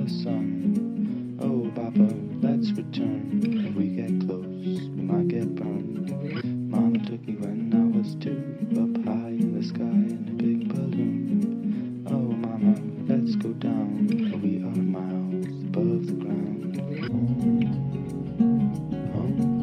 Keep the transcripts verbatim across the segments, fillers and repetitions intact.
the sun. Oh, Papa, let's return. If we get close, we might get burned. Mama took me when I was two, up high in the sky in a big balloon. Oh, Mama, let's go down. We are miles above the ground. Oh,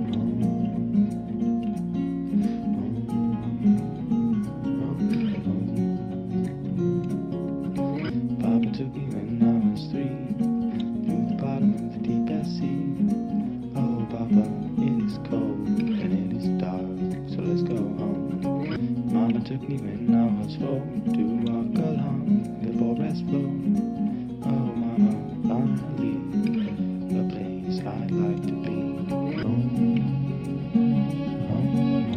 Papa took me when I was three, through the bottom of the deepest sea. Oh, Papa, it is cold and it is dark, so let's go home. Mama took me when I was four, to walk along the forest floor. Oh, Mama, finally, a place I'd like to be. Home, home,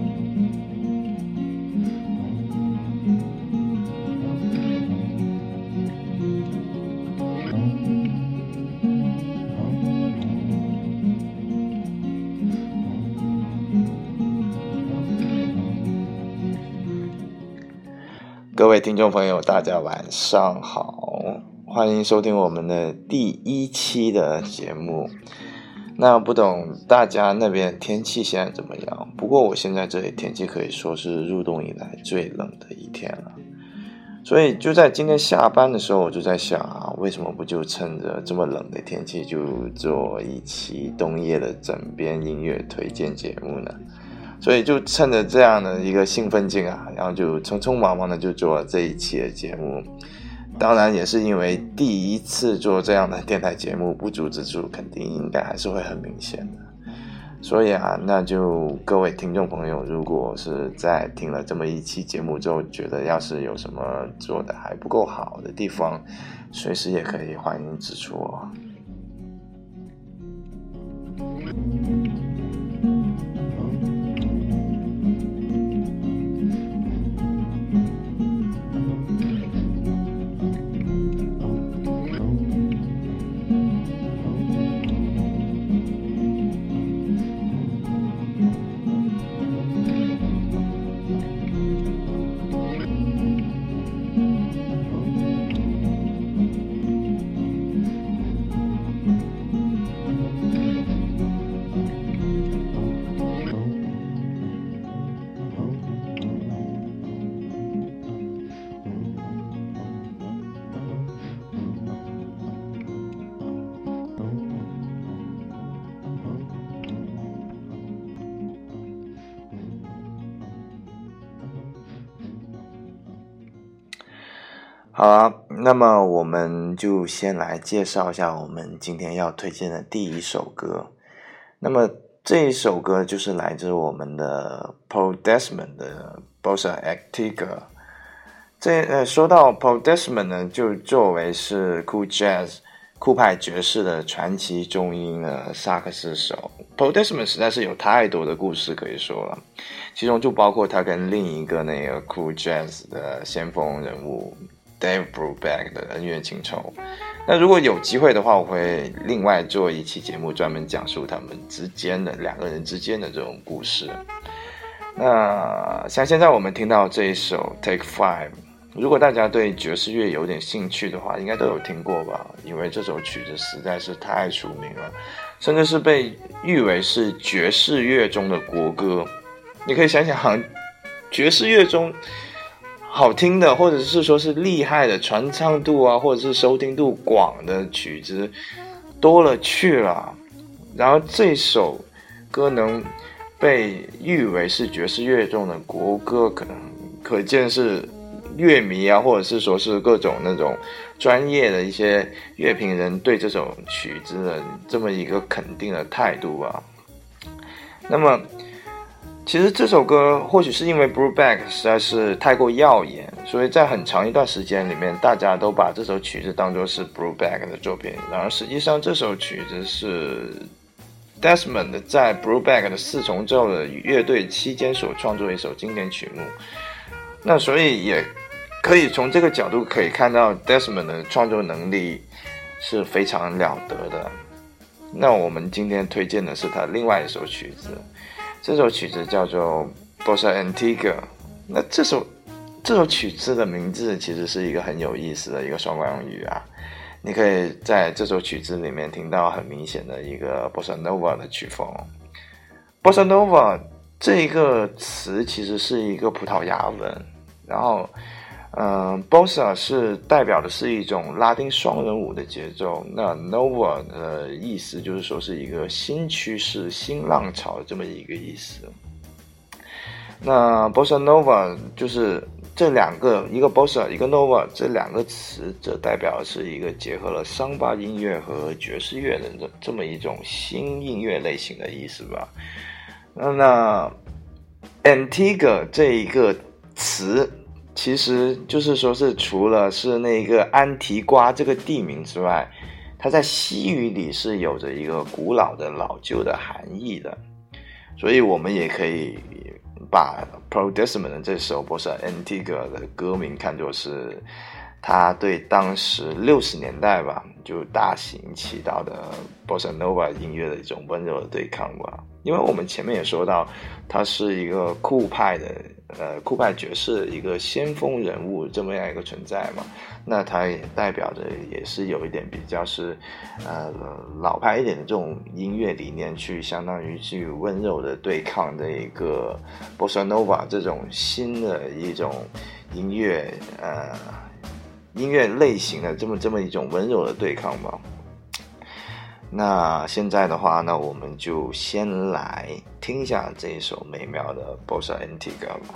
各位听众朋友，大家晚上好，欢迎收听我们的第一期的节目。那不懂大家那边天气现在怎么样？不过我现在这里天气可以说是入冬以来最冷的一天了。所以就在今天下班的时候，我就在想啊，为什么不就趁着这么冷的天气，就做一期冬夜的枕边音乐推荐节目呢？所以就趁着这样的一个兴奋劲啊，然后就匆匆忙忙的就做了这一期的节目。当然也是因为第一次做这样的电台节目，不足之处肯定应该还是会很明显的。所以啊，那就各位听众朋友，如果是在听了这么一期节目之后，觉得要是有什么做的还不够好的地方，随时也可以欢迎指出哦。好啊，那么我们就先来介绍一下我们今天要推荐的第一首歌。那么这一首歌就是来自我们的 Paul Desmond 的 Bossa Antigua。这呃，说到 Paul Desmond 呢，就作为是 Cool Jazz 酷派爵士的传奇中音的萨克斯手， Paul Desmond 实在是有太多的故事可以说了，其中就包括他跟另一个那个 Cool Jazz 的先锋人物Dave Brubeck 的恩怨情仇。那如果有机会的话，我会另外做一期节目专门讲述他们之间的两个人之间的这种故事。那像现在我们听到这一首 Take Five， 如果大家对爵士乐有点兴趣的话，应该都有听过吧，因为这首曲子实在是太出名了，甚至是被誉为是爵士乐中的国歌。你可以想想，爵士乐中好听的，或者是说是厉害的传唱度啊，或者是收听度广的曲子多了去了，然后这首歌能被誉为是爵士乐中的国歌，可能可见是乐迷啊，或者是说是各种那种专业的一些乐评人对这首曲子的这么一个肯定的态度啊。那么其实这首歌或许是因为 Brubeck 实在是太过耀眼，所以在很长一段时间里面，大家都把这首曲子当作是 Brubeck 的作品。然而实际上这首曲子是 Desmond 在 Brubeck 的四重奏的乐队期间所创作的一首经典曲目。那所以也可以从这个角度可以看到 Desmond 的创作能力是非常了得的。那我们今天推荐的是他另外一首曲子，这首曲子叫做 Bossa Antigua。 那这首这首曲子的名字其实是一个很有意思的一个双关语啊， 你可以在这首曲子里面听到很明显的一个 Bossa Nova 的曲风。Bossa Nova 这一个词其实是一个葡萄牙文，然后嗯 Bossa 是代表的是一种拉丁双人舞的节奏，那 Nova 的意思就是说是一个新趋势、新浪潮这么一个意思。那 Bossa Nova 就是这两个，一个 Bossa 一个 Nova 这两个词，这代表的是一个结合了桑巴音乐和爵士乐的这这么一种新音乐类型的意思吧。那那 Antigua 这一个词其实就是说是除了是那个安提瓜这个地名之外，它在西语里是有着一个古老的老旧的含义的，所以我们也可以把 Paul Desmond 的这首 Bossa Antigua 的歌名看作是他对当时六十年代吧就大行其道的 Bossa Nova 音乐的一种温柔的对抗吧。因为我们前面也说到他是一个酷派的呃酷派爵士一个先锋人物这么样一个存在嘛，那他也代表着也是有一点比较是呃老派一点的这种音乐理念，去相当于去温柔的对抗的一个 Bossa Nova 这种新的一种音乐呃音乐类型的这么这么一种温柔的对抗吧。那现在的话呢，我们就先来听一下这一首美妙的 Bossa Antigua 吧。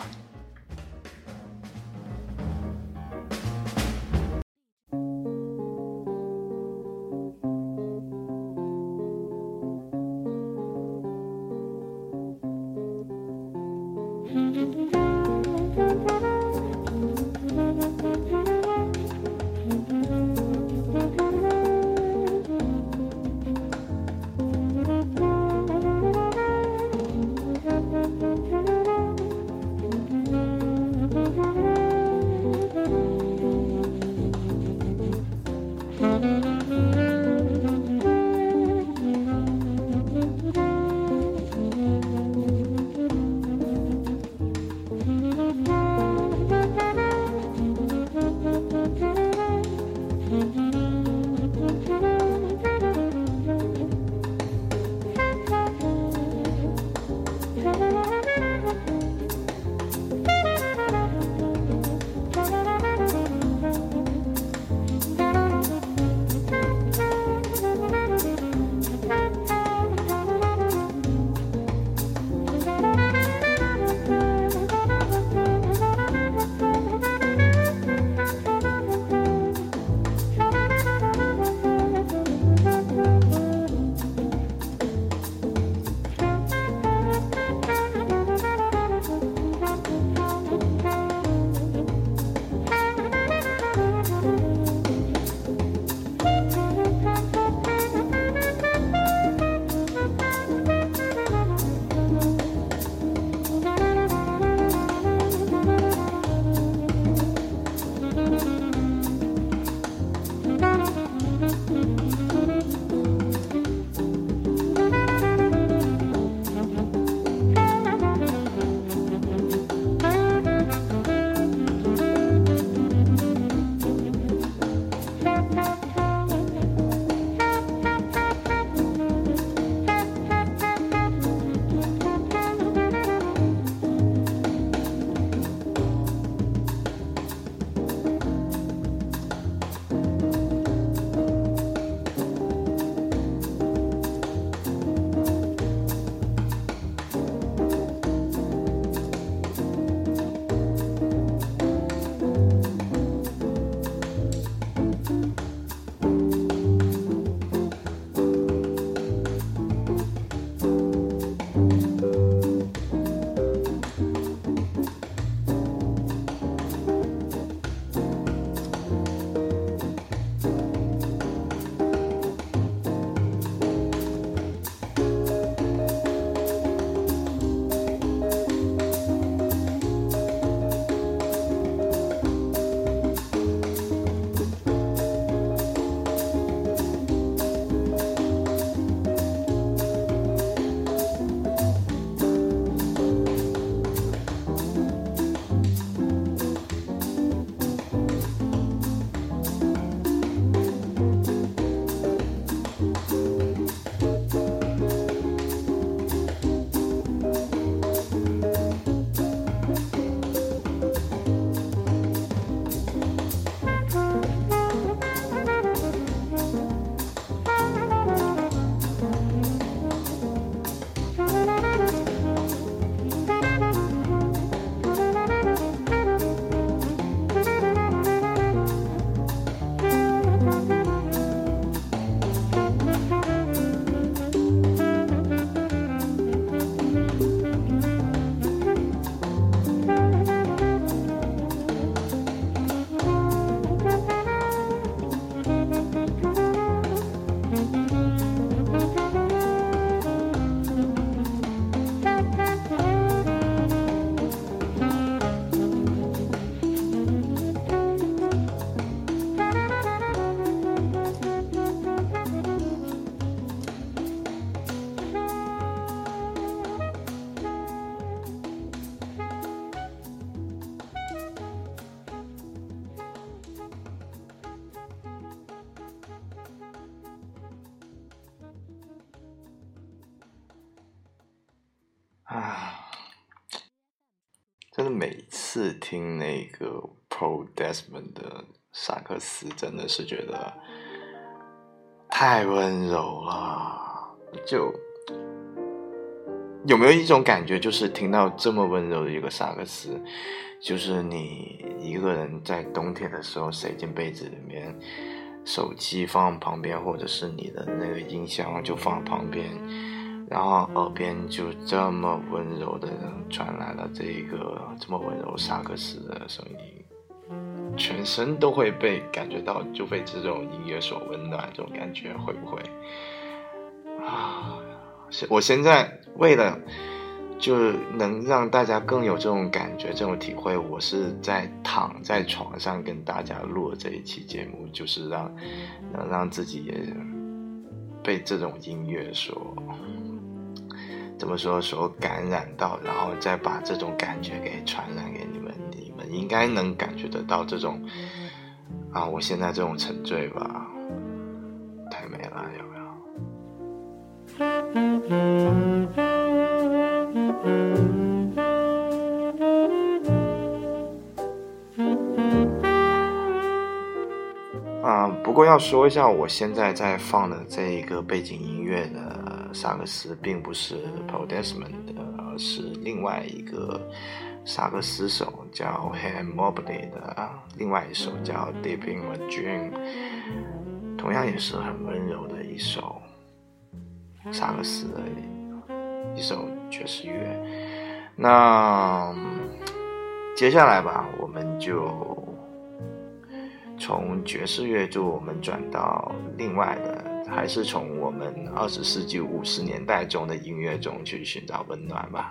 啊，真的每次听那个 Paul Desmond 的萨克斯，真的是觉得太温柔了。就有没有一种感觉，就是听到这么温柔的一个萨克斯，就是你一个人在冬天的时候塞进被子里面，手机放旁边，或者是你的那个音箱就放旁边，然后耳边就这么温柔的传来了这个这么温柔萨克斯的声音，全身都会被感觉到，就被这种音乐所温暖，这种感觉会不会啊？我现在为了就能让大家更有这种感觉，这种体会，我是在躺在床上跟大家录这一期节目，就是让能让自己也被这种音乐所怎么说所感染到，然后再把这种感觉给传染给你们，你们应该能感觉得到这种啊，我现在这种沉醉吧，太美了，有没有？啊，不过要说一下，我现在在放的这一个背景音乐的萨克斯并不是 Paul Desmond 的，而是另外一个萨克斯手叫 Han Mobley 的另外一首叫 Deep in a Dream， 同样也是很温柔的一首萨克斯的一首爵士乐。那接下来吧，我们就从爵士乐就我们转到另外的，还是从我们二十世纪五十年代中的音乐中去寻找温暖吧。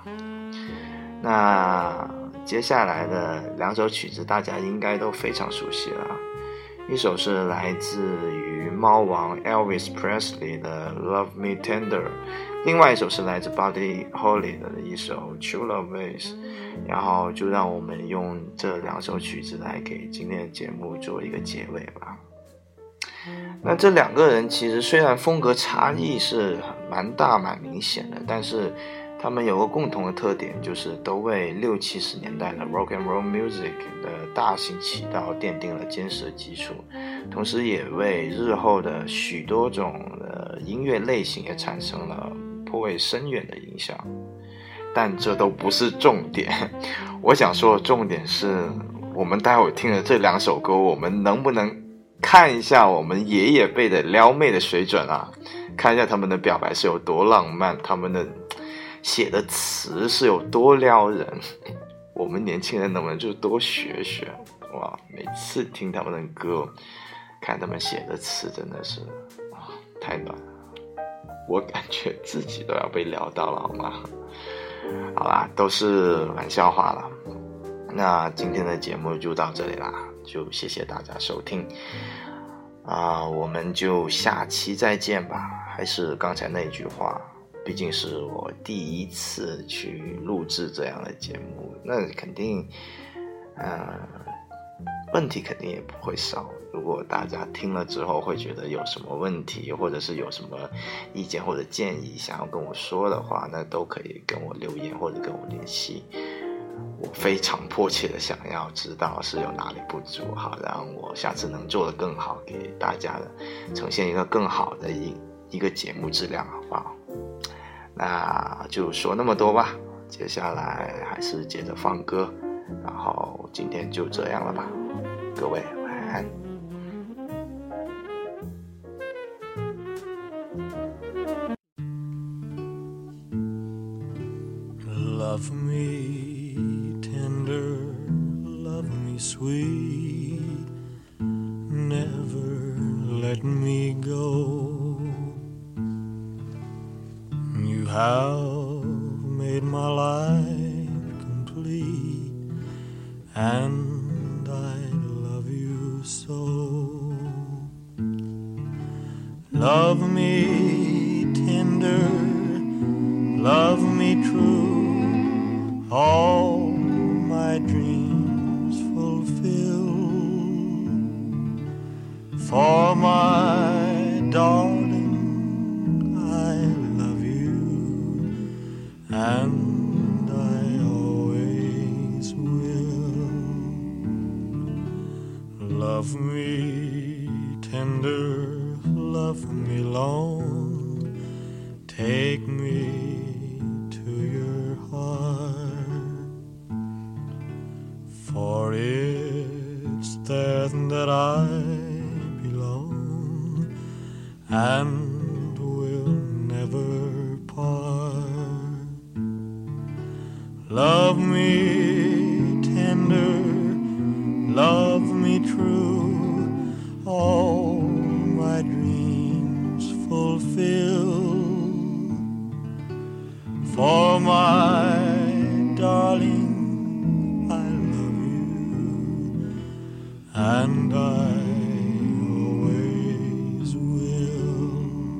那接下来的两首曲子大家应该都非常熟悉了，一首是来自于猫王 Elvis Presley 的 Love Me Tender， 另外一首是来自 Buddy Holly 的一首 True Love Ways。然后就让我们用这两首曲子来给今天的节目做一个结尾吧。那这两个人其实虽然风格差异是蛮大蛮明显的，但是他们有个共同的特点，就是都为六七十年代的 rock and roll music 的大行其道奠定了坚实的基础，同时也为日后的许多种的音乐类型也产生了颇为深远的影响。但这都不是重点，我想说的重点是，我们待会听的这两首歌，我们能不能看一下我们爷爷辈的撩妹的水准啊？看一下他们的表白是有多浪漫，他们的写的词是有多撩人，我们年轻人能不能就多学学？哇，每次听他们的歌，看他们写的词，真的是啊，太暖了，我感觉自己都要被撩到了，好吗？好啦，都是玩笑话了。那今天的节目就到这里啦，就谢谢大家收听啊、呃，我们就下期再见吧。还是刚才那句话，毕竟是我第一次去录制这样的节目，那肯定呃问题肯定也不会少。如果大家听了之后会觉得有什么问题，或者是有什么意见或者建议想要跟我说的话，那都可以跟我留言或者跟我联系。我非常迫切的想要知道是有哪里不足，好让我下次能做得更好，给大家的呈现一个更好的一一个节目质量，好不好？那就说那么多吧，接下来还是接着放歌，然后今天就这样了吧，各位晚安。 Love me tender, love me sweet, never let me go. You have made my life complete, and I love you so. Love me tender, love me true, all my dreams fulfill. For my darling, I love you, and me long, take me to your heart, for it's there that I belong and will never part. Love me tender, love me true, all my dreams fulfill. For my darling, I love you, and I always will.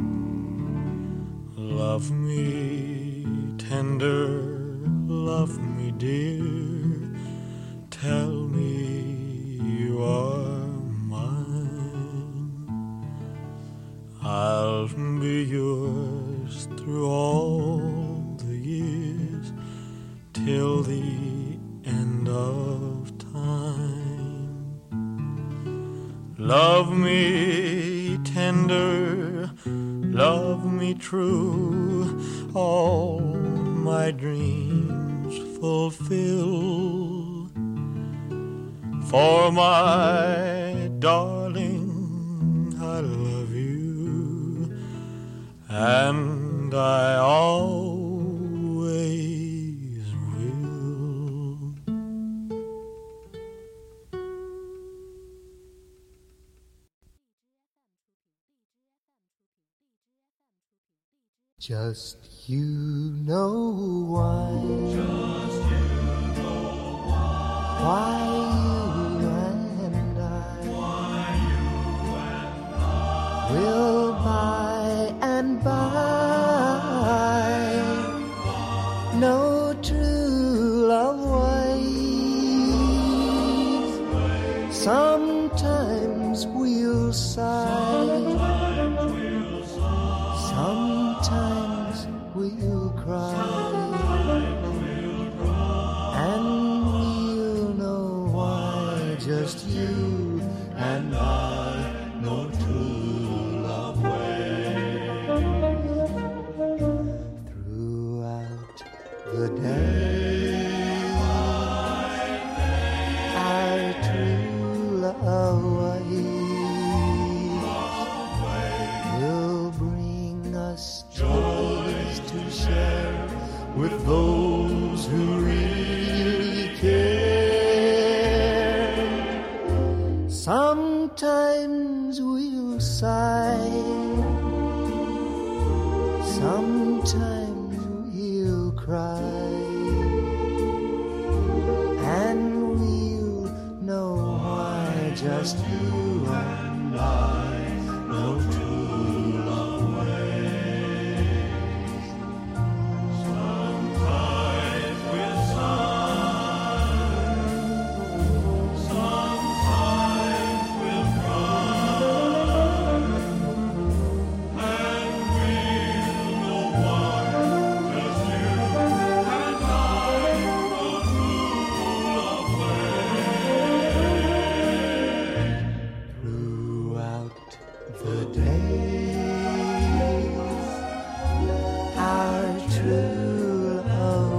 Love me tender, love me dear, tell me you are mine. I'll be yours through all the years, till the end of time. Love me tender, love me true, all my dreams fulfill. For my darling, I love you, and I always will. Just you know why. Just you know why. Why you and I. Why you and I. Will by and by. No true love ways. Sometimes we'll sigh. Sometimes we'll cry, and we'll know why. Just you and I know true love ways. Throughout the day, our true love ways will bring us joys to share with those who really care. Sometimes we'll sigh, sometimes we'll cry, and we'll know why. Just you and I know true love ways. Sometimes we'll sigh, sometimes we'll cry, and we'll know why. Just you and I know true love ways. Throughout the days, our true love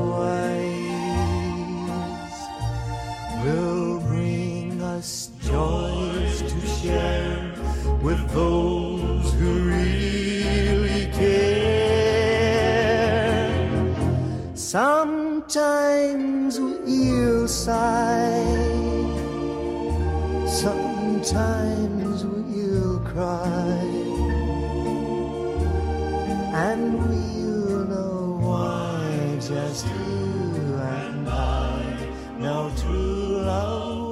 ways will bring us joys to share with those who really care. Sometimes we'll sigh, sometimes we'll cry, and we'll know why. Just you and I know true love